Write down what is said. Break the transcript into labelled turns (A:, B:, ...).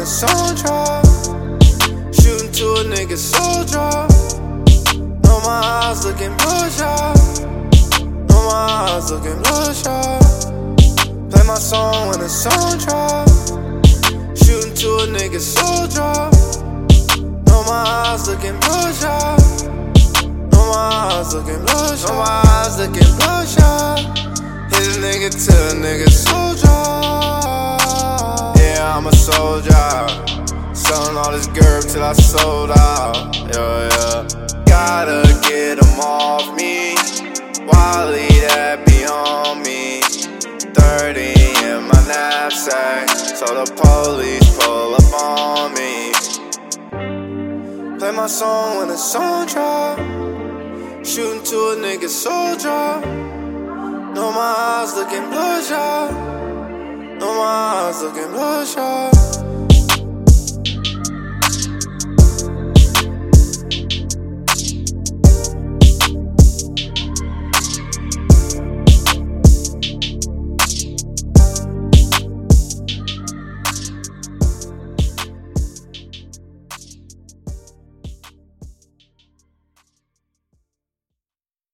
A: the sun drop. Shooting to a nigga soul drop. Know my eyes looking bloodshot. Know my eyes looking bloodshot. Play my song when the sun drop. Shooting to a nigga soul drop. Know my eyes looking bloodshot. Know my eyes looking bloodshot. Know my eyes looking bloodshot. Hit a nigga till a nigga soul drop. Yeah, I'm a soldier. Selling all this gerb till I sold out. Yeah. Gotta get them off me. Wally that be on me. 30 in my knapsack, so the police pull up on me. Play my song when the sun drop. Shooting to a nigga soul drop. Know my eyes looking bloodshot. Know my eyes looking bloodshot.